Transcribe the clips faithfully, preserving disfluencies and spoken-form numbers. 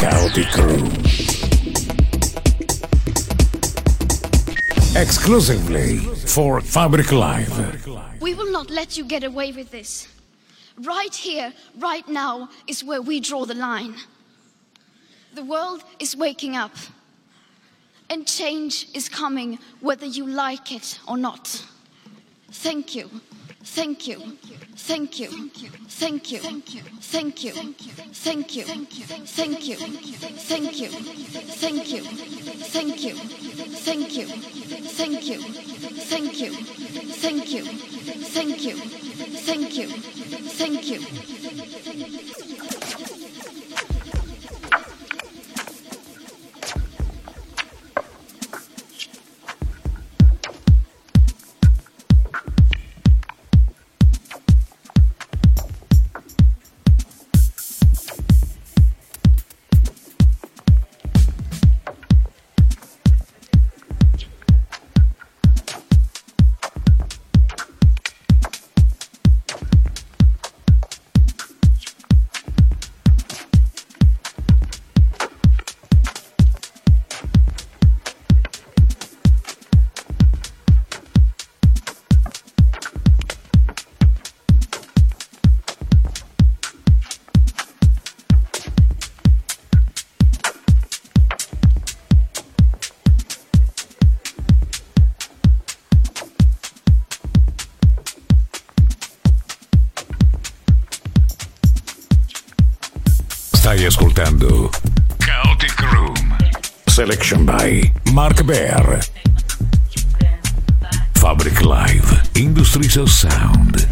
Chaotic Room. Exclusively for Fabric Live. We will not let you get away with this. Right here, right now, is where we draw the line. The world is waking up. And change is coming whether you like it or not. Thank you. Thank you. Thank you. Thank you. Thank you. Thank you. Thank you. Thank you. Thank you. Thank you. Thank you. Thank you. Thank you. Thank you. Thank you. Thank you. Thank you. Thank you. Stai ascoltando Chaotic Room. Selection by Mark Bear. Fabric Live. Industries of Sound.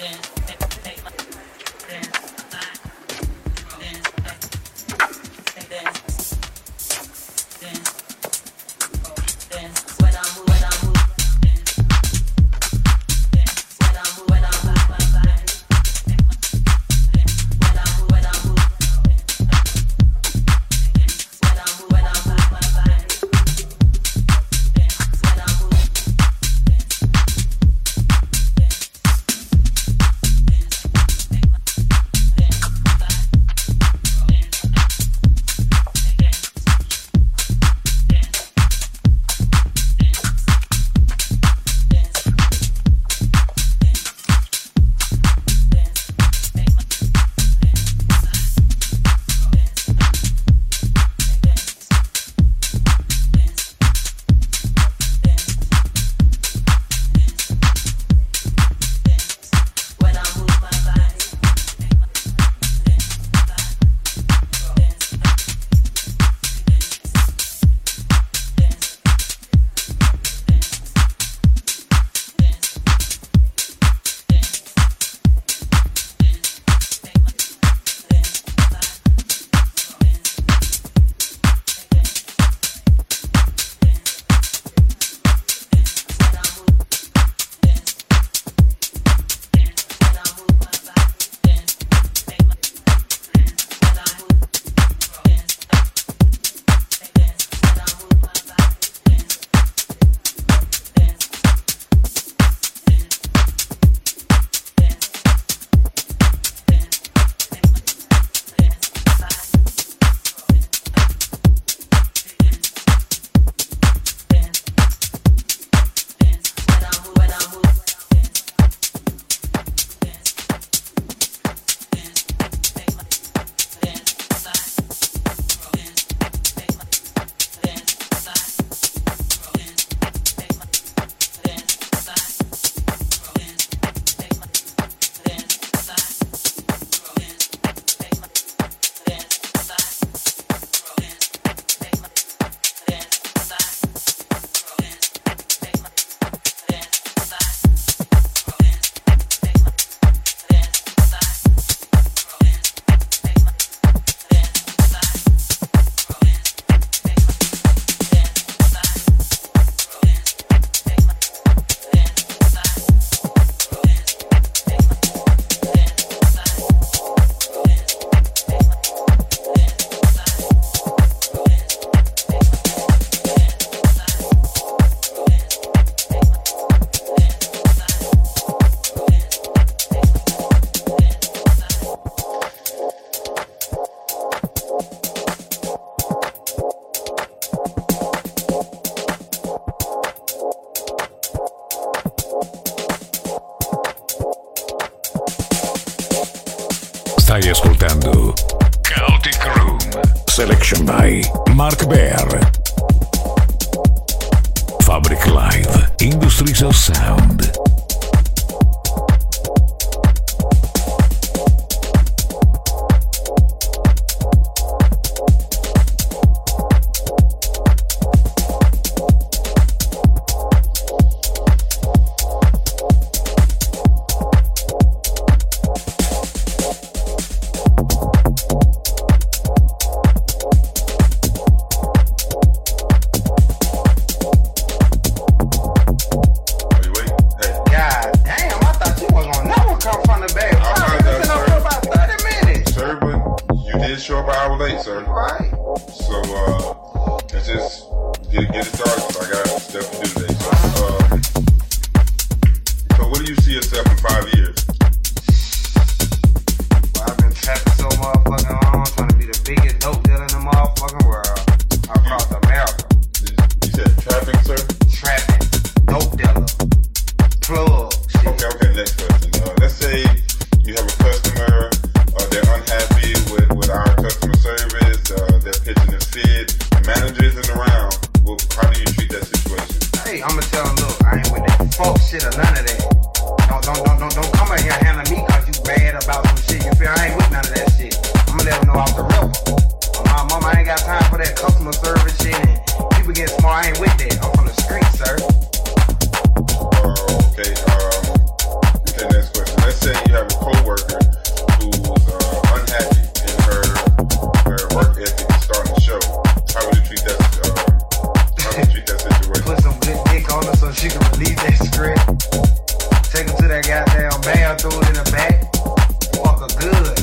Stai ascoltando Chaotic Room, selection by Mark Bear. Fabric Live, Industries of Sound. Let's say down, throw it in the back. Fuck her good.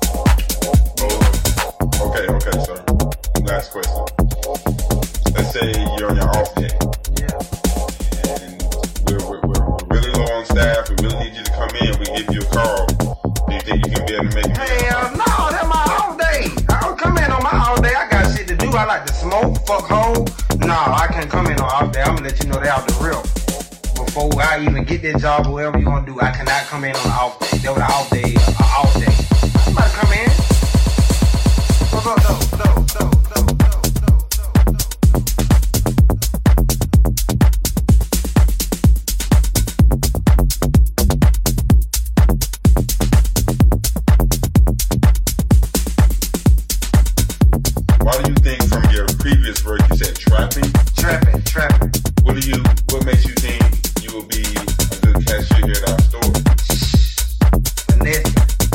Oh, okay, okay, sir. Last question. Let's say you're on your off day. Yeah. And we're, we're, we're, we're really low on staff. We really need you to come in. We give you a call. Do you think you can be able to make it? Hell no, that's my off day. I don't come in on my off day. I got shit to do. I like to smoke, fuck hoe. No, I can't come in on off day. I'm gonna let you know they out the real. Before I even get that job or whatever you gonna do, I cannot come in on an off day. That was an off day, an off day. Somebody come in. What's up, though? Though, though, though, though, though, Why do you think from your previous work you said trapping? Trapping, trapping. What do you? What makes you think you will be a good cashier here at our store? Finesse.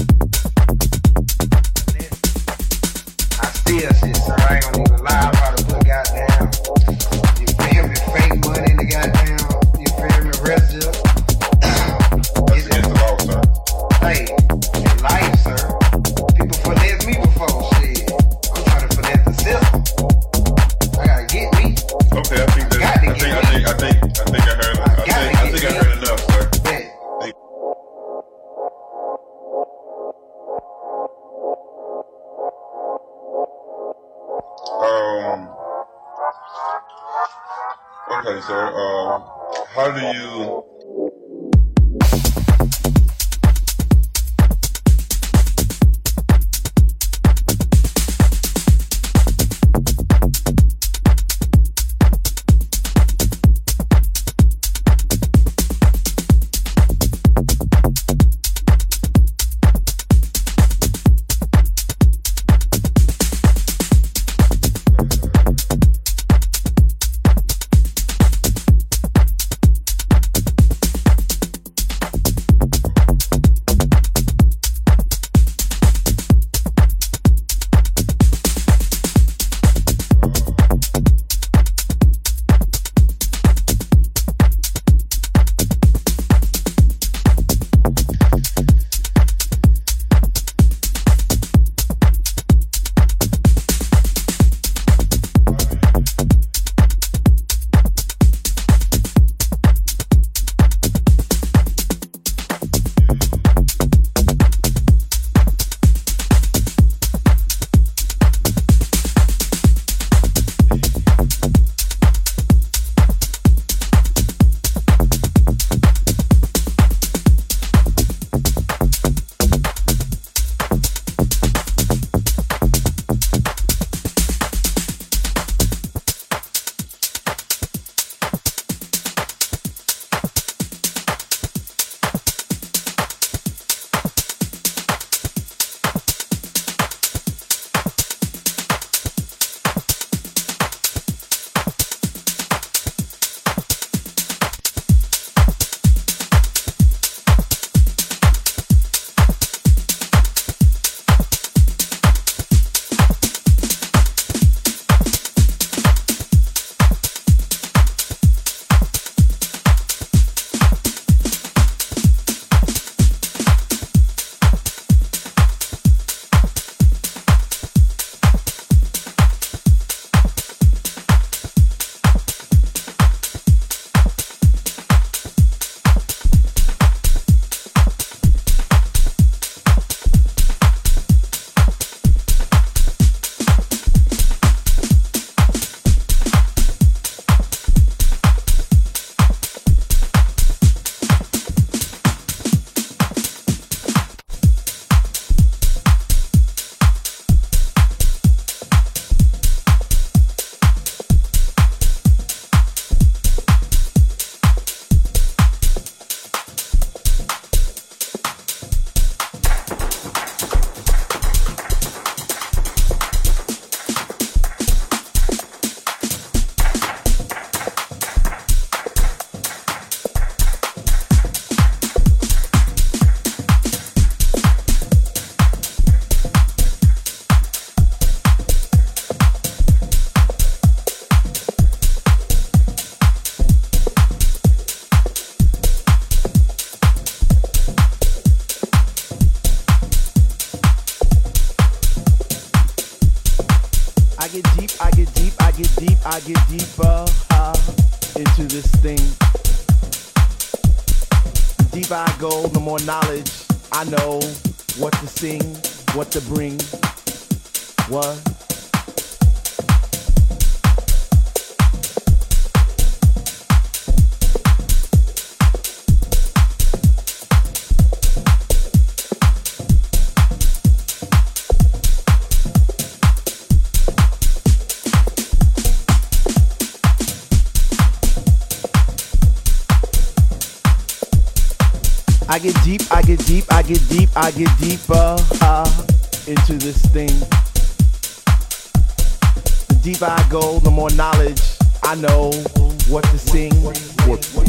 I steal shit, sir. I ain't gonna even lie about it, but goddamn. You feel me? Fake money in the goddamn. You feel me? Residue. That's against the law, sir. Hey, in life, sir. People finesse me before shit. I'm trying to finesse the system. I gotta get me. Okay, I think that, Got to I think get I me. think I think I think I heard I, I gotta think I get think I me. heard enough, sir. Bet. Thank Um. Okay, sir. Um. How do you? I get deeper uh, into this thing. The deeper I go, the more knowledge I know what to sing, what to bring, what. I get deep, I get deep, I get deep, I get deeper uh, into this thing. The deeper I go, the more knowledge I know what to sing. What, what,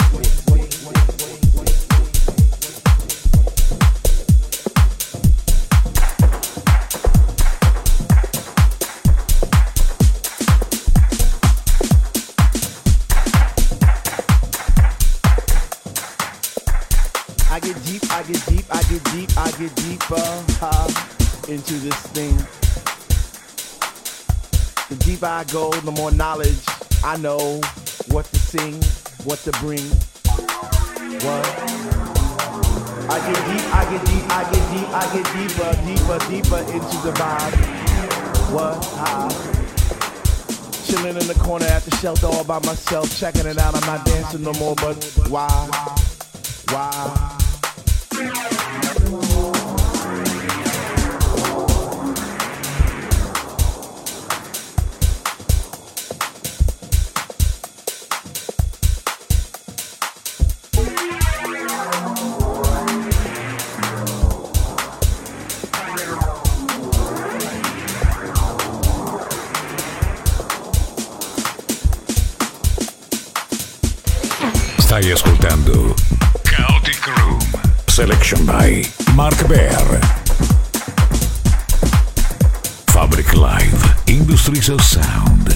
I get deep, I get deep, I get deep, I get deeper uh, into this thing. The deeper I go, the more knowledge I know what to sing, what to bring. What? I get deep, I get deep, I get deep, I get deeper, deeper, deeper into the vibe. What? Uh, chilling in the corner at the shelter all by myself, checking it out. I'm not dancing no more, but why? Why? Stai ascoltando Chaotic Room, selection by Mark Bear. Fabric Live, Industries of Sound.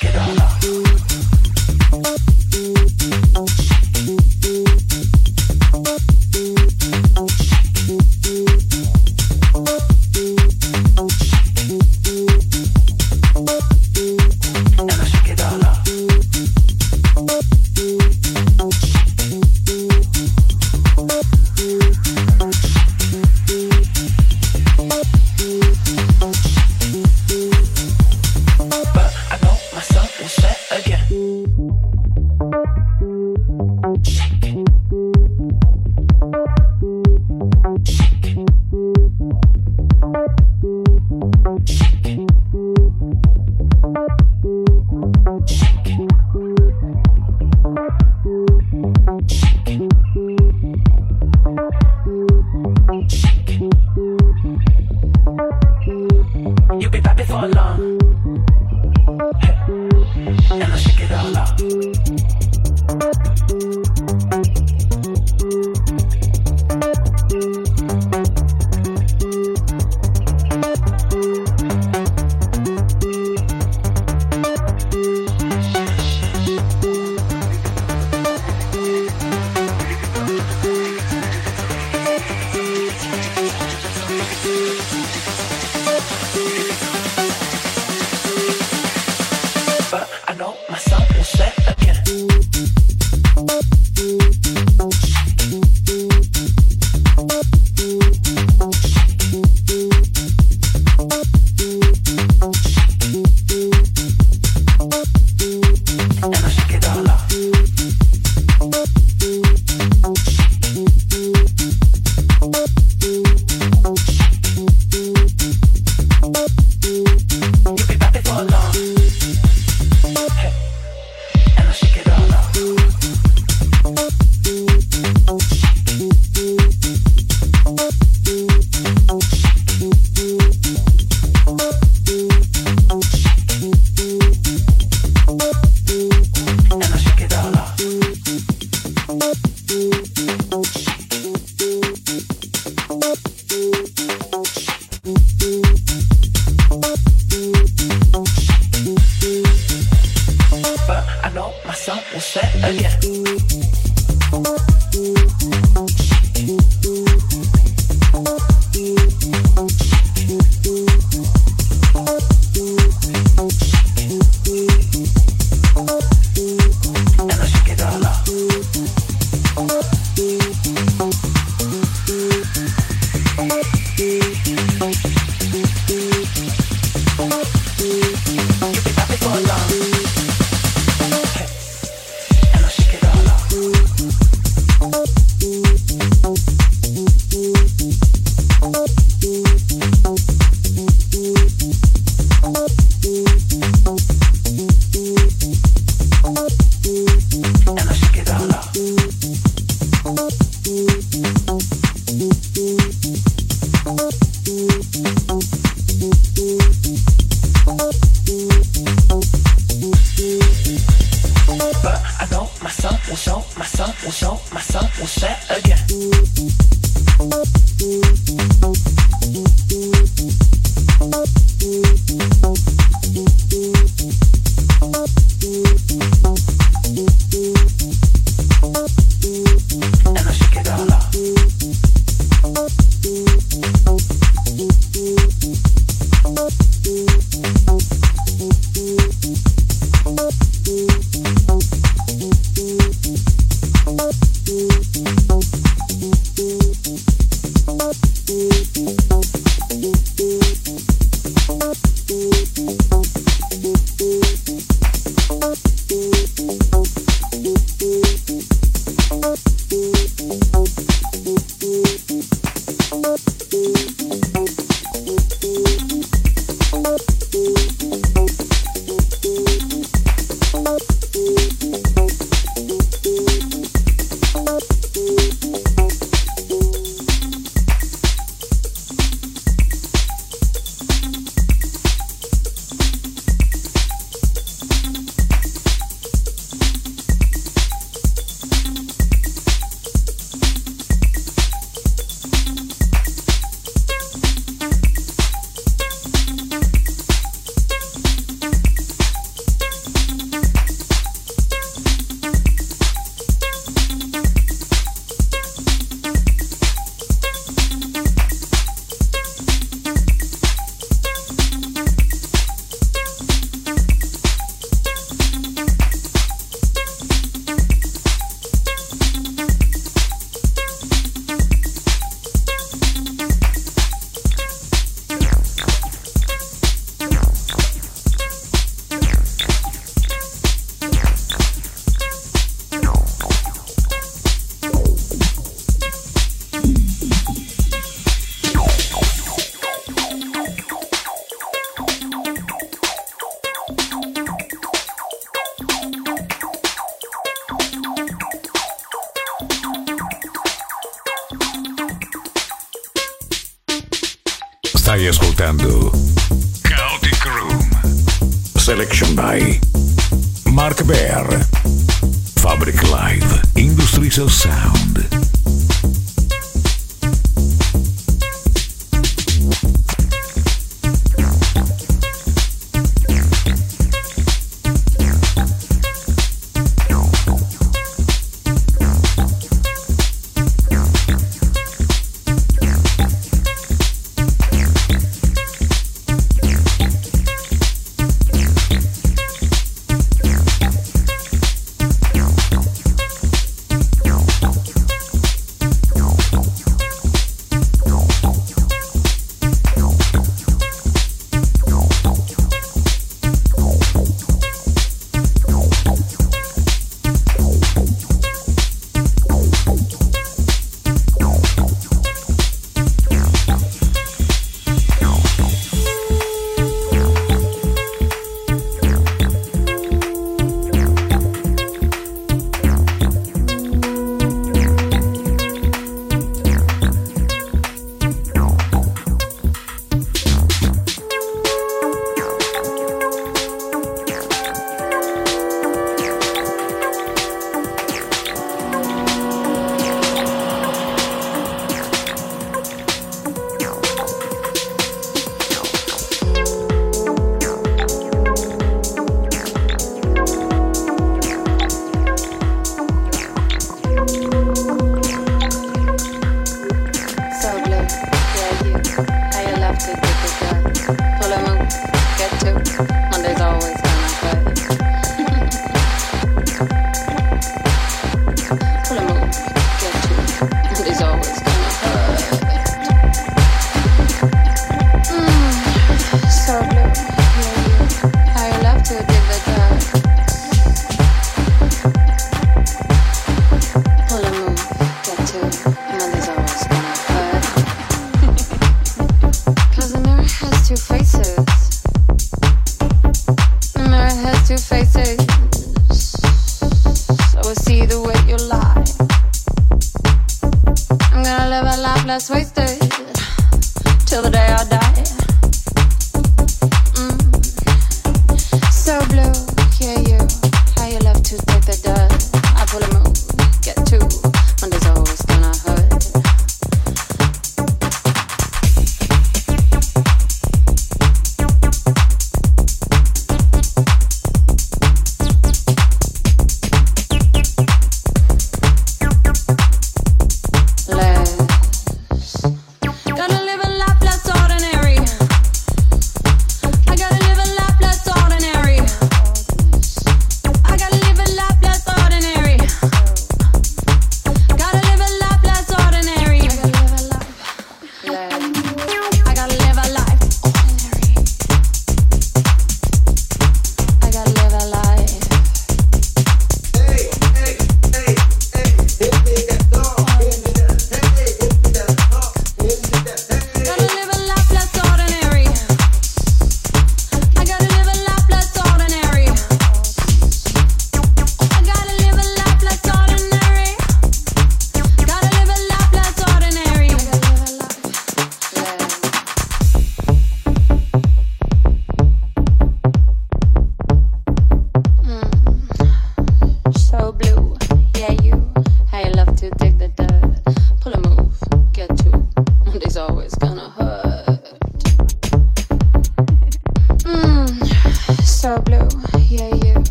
And I shake it all off. Stai ascoltando Chaotic Room. Selection by Mark Bear. Fabric Live. Industries of Sound.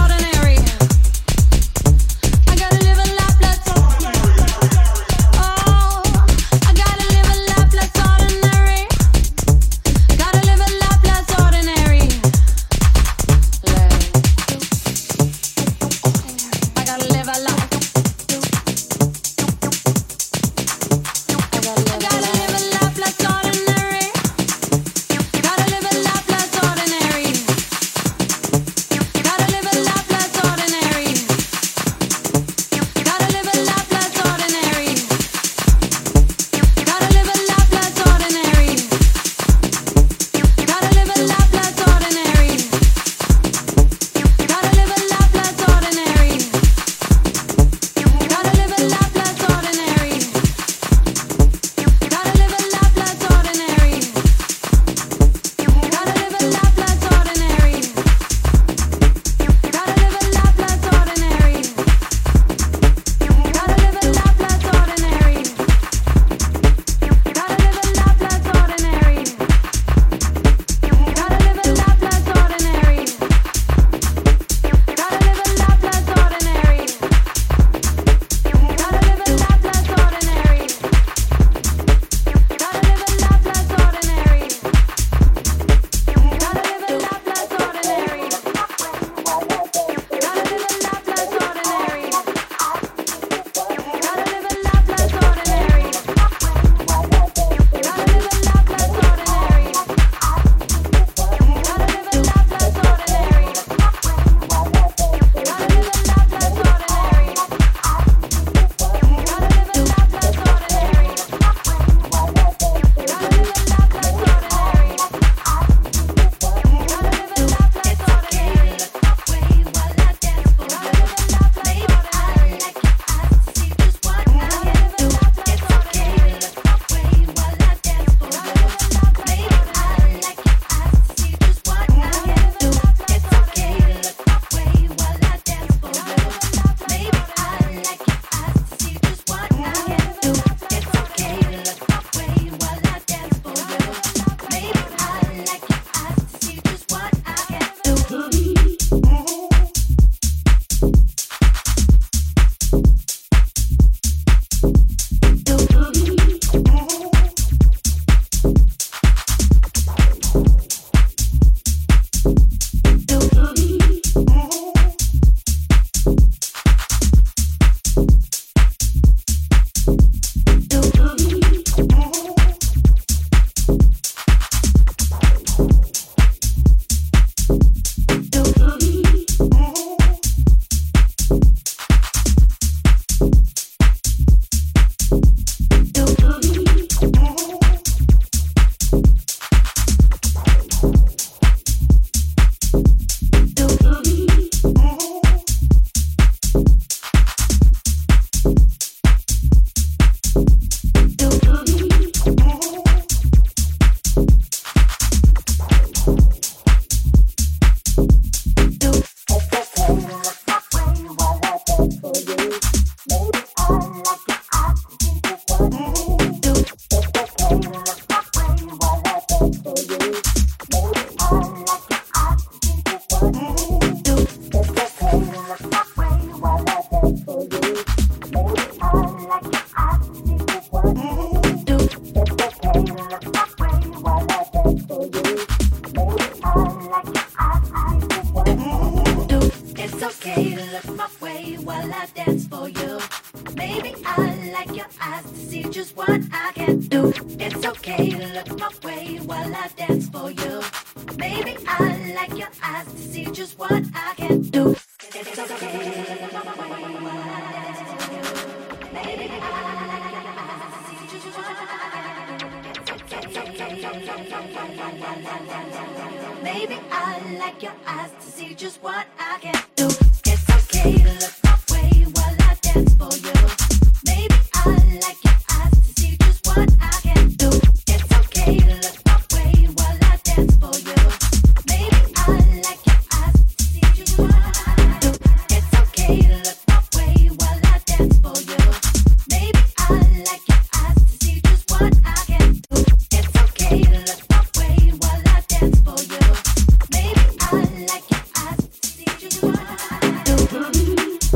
Oh like your eyes to see just what I can do. It's okay to look my way while I dance for you. Baby, I like your eyes to see just what I can do. It's okay to look my way while I dance for you. Baby, I like your eyes to see just what I can do. It's okay. Baby, I like your eyes to see just what I can do. It's okay to look my way while I dance for you. Baby, I like your eyes to see just what I can do. It's okay to look my way while I dance for you. Baby, I like your eyes to see just what I can do. It's okay to look my way while I dance for you. Baby, I like your eyes to see just what I can do. It's okay to look my way while I dance for you. Baby, I like your eyes to see just what I can do.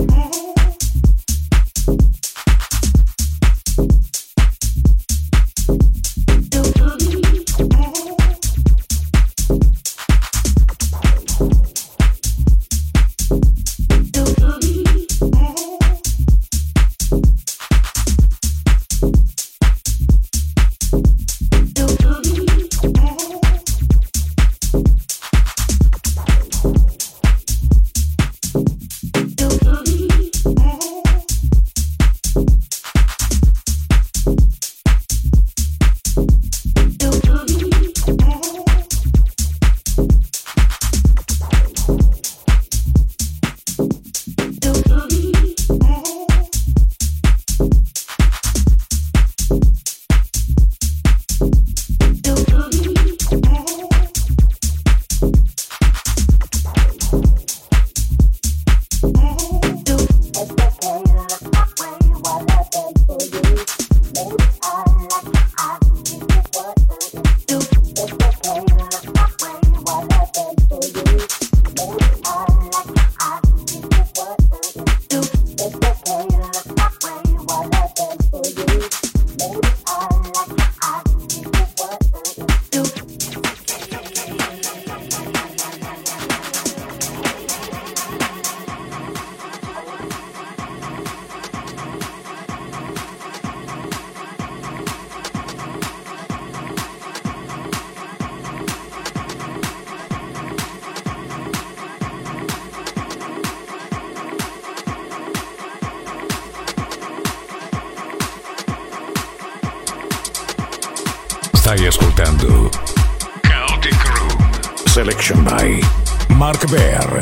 Stai ascoltando Chaotic Room Selection by Mark Bear.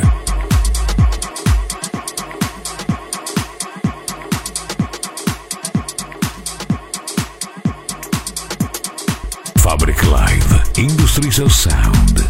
Fabric Live Industries of Sound.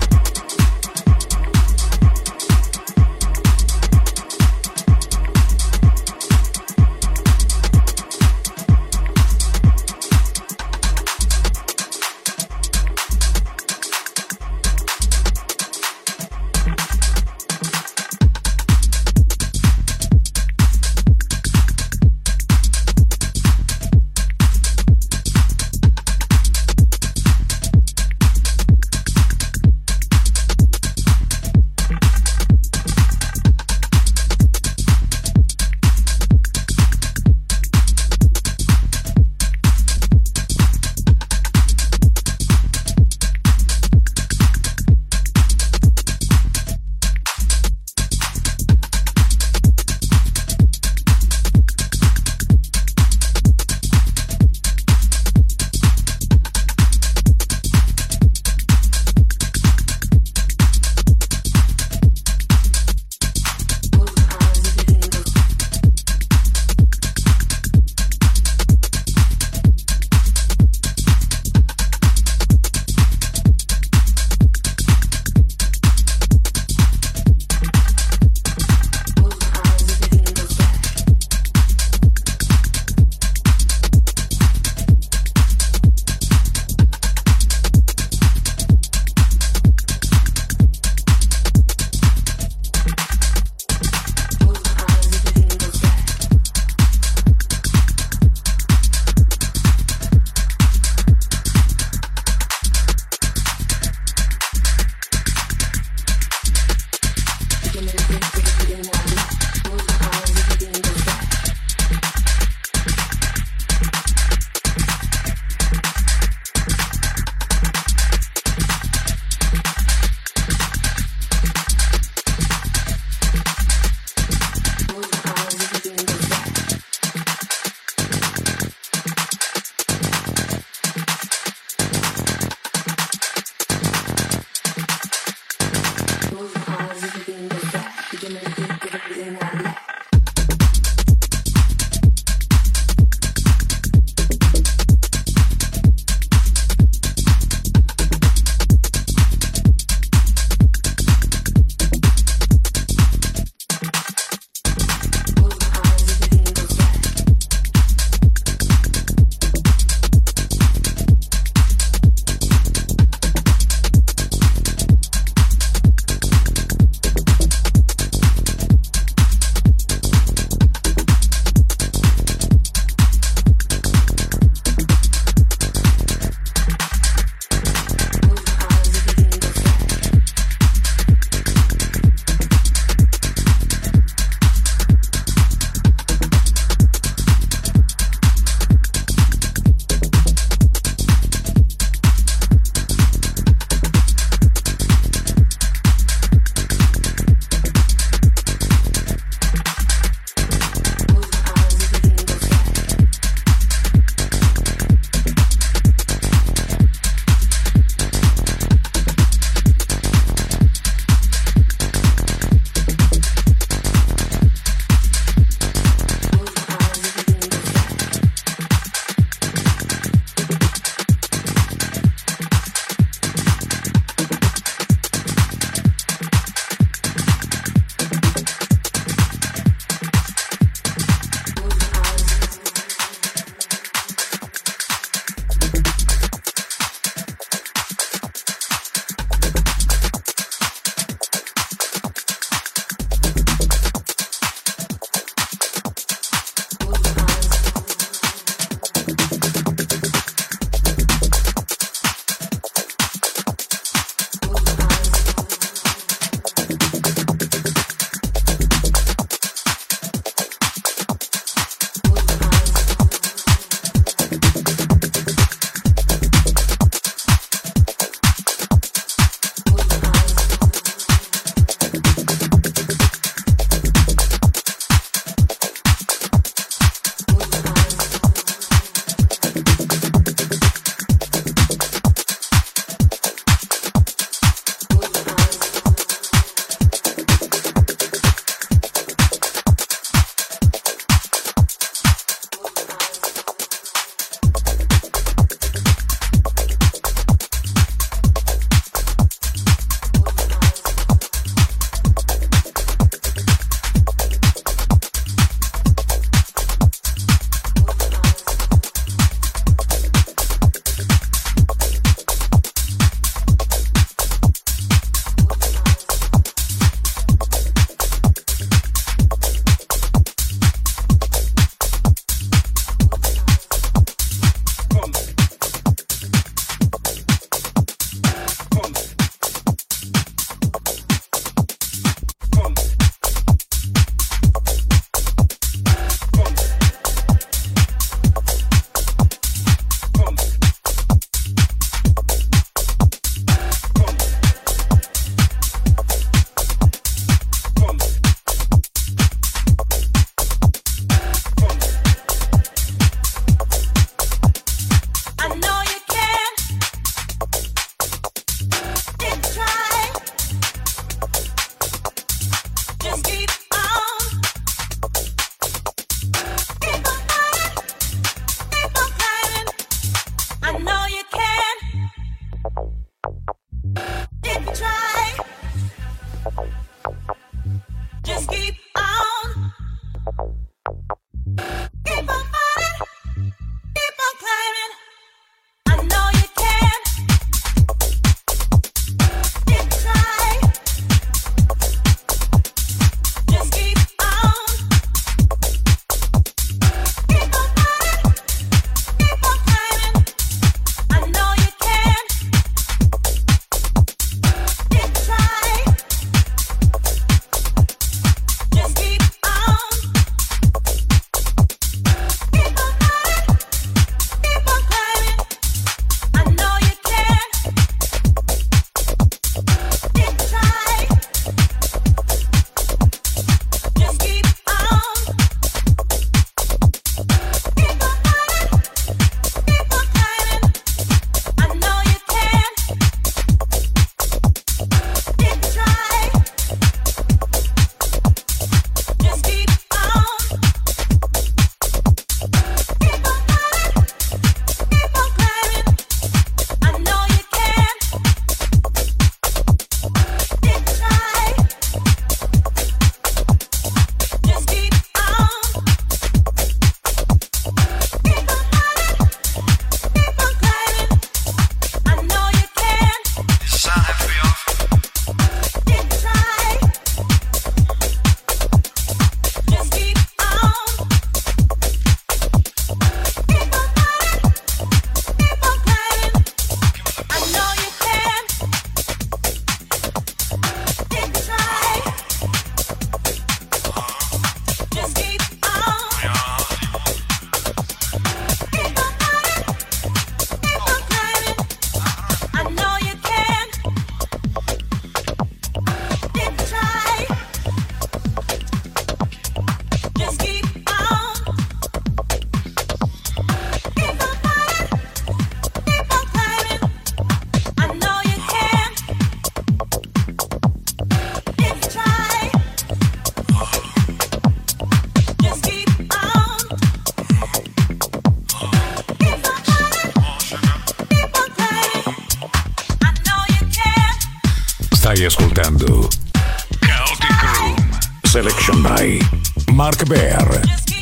Stai ascoltando Chaotic Room, selection by Mark Bear.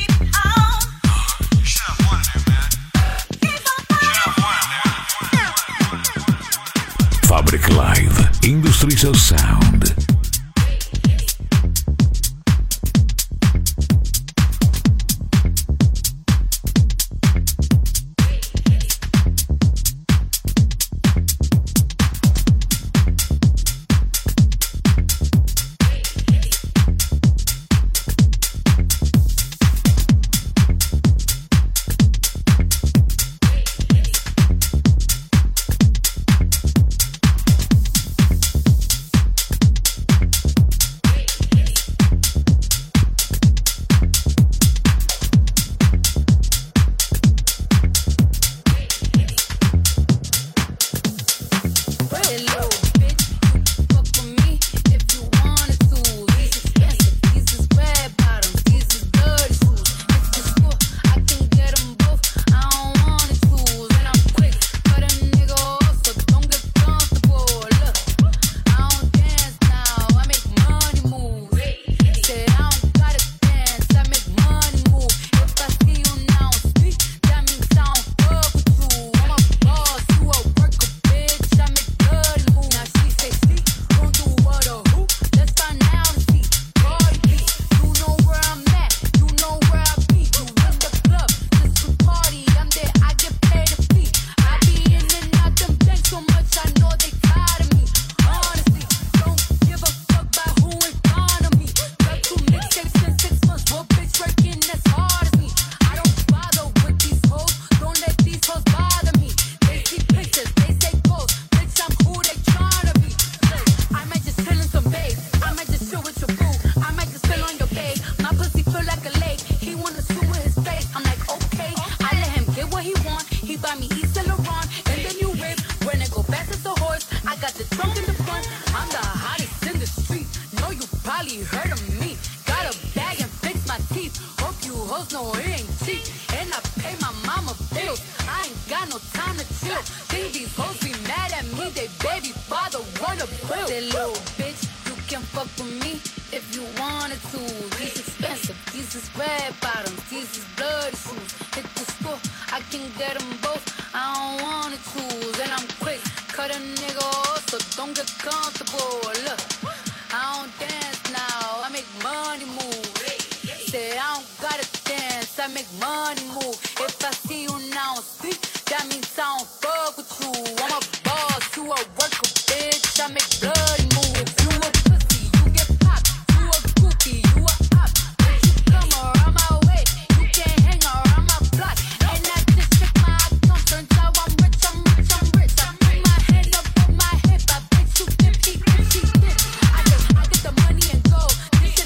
Fabric Live, Industries of Sound.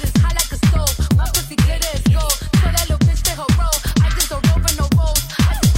I just don't open no rolls. I just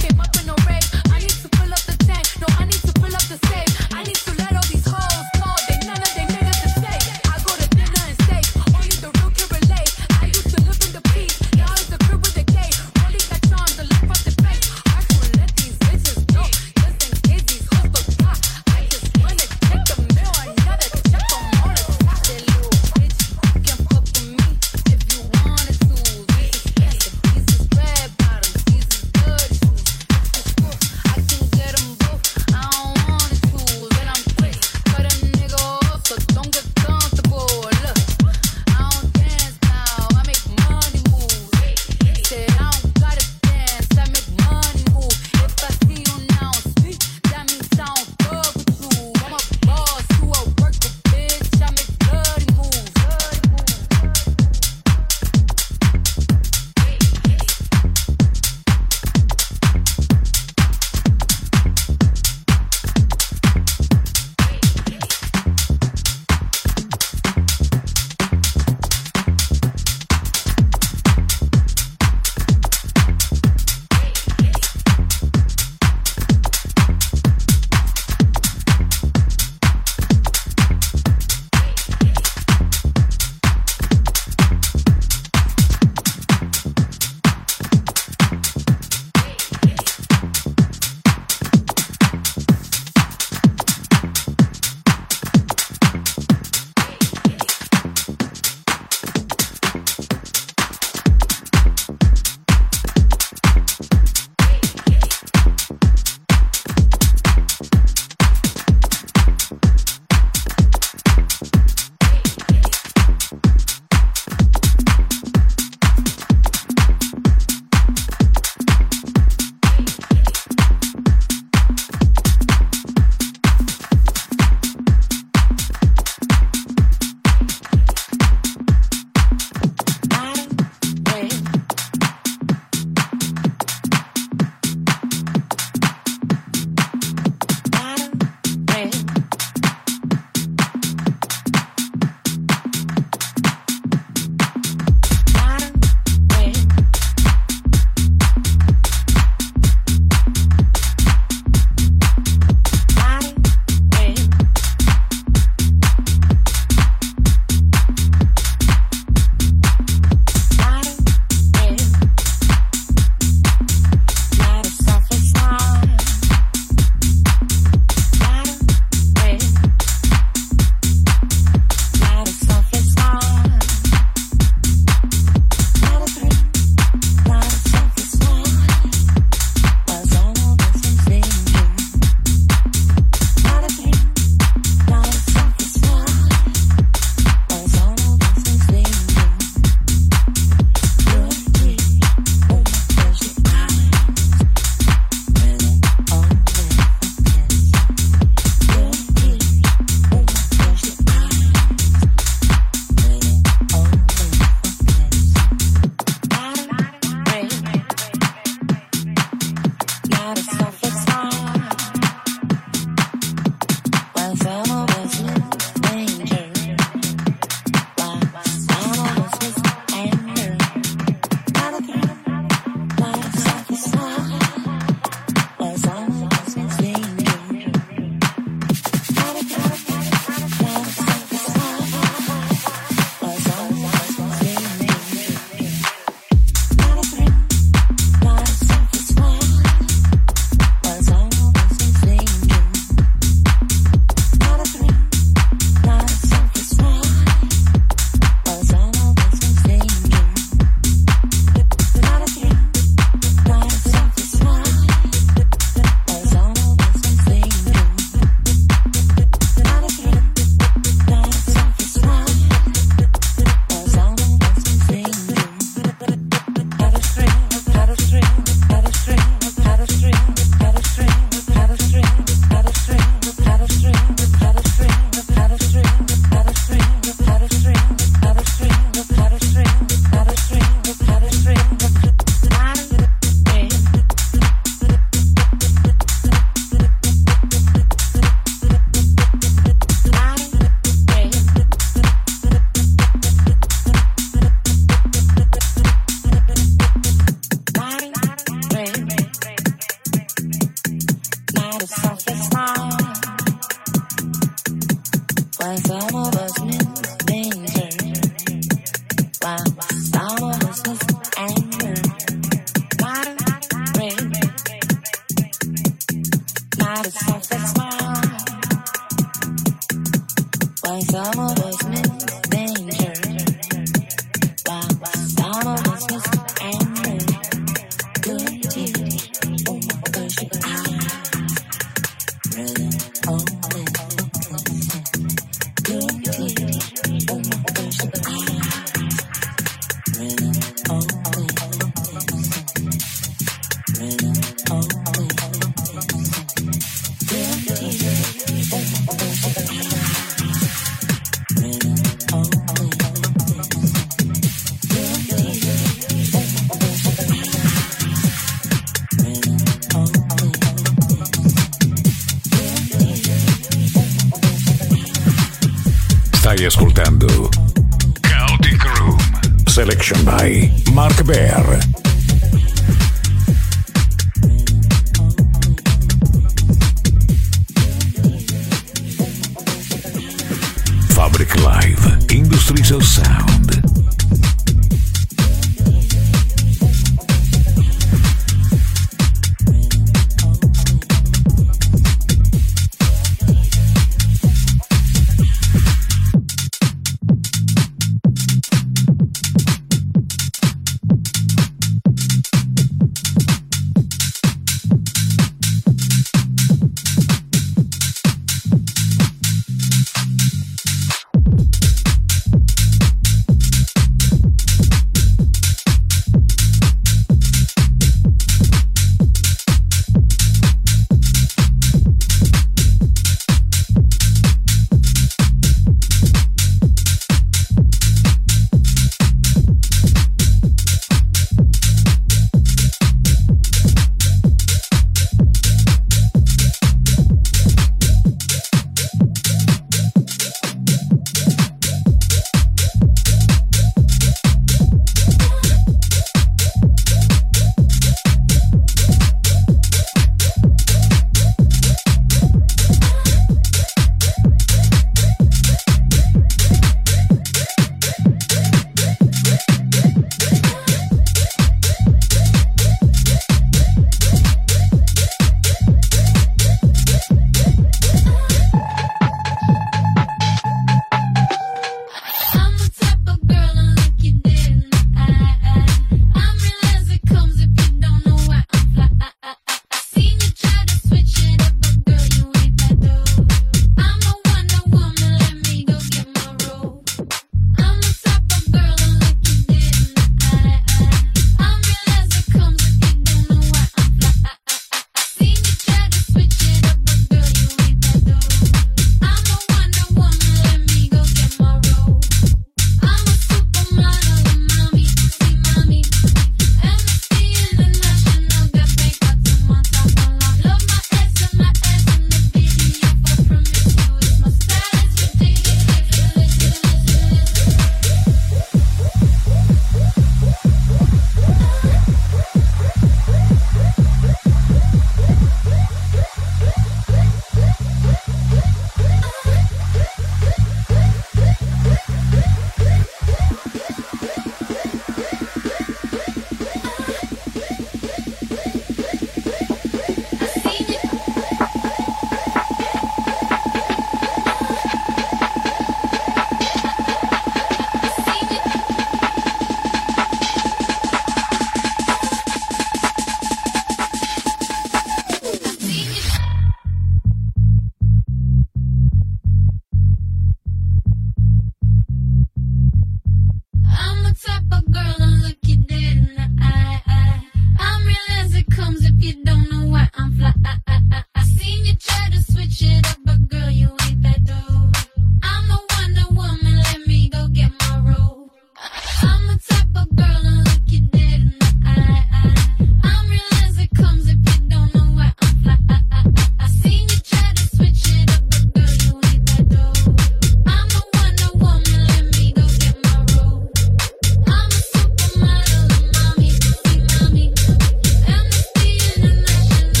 got a soft smile. Why some of us miss danger, while some of us miss anger. Good teeth, oh my gosh, I really oh this. Good teeth, oh my gosh, I really oh this. Really oh this. Good teeth, oh my gosh, I really oh this. Stai ascoltando Chaotic Room, selection by Mark Bear. Fabric Live, Industries of Sound.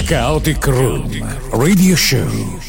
Chaotic Room Radio Show.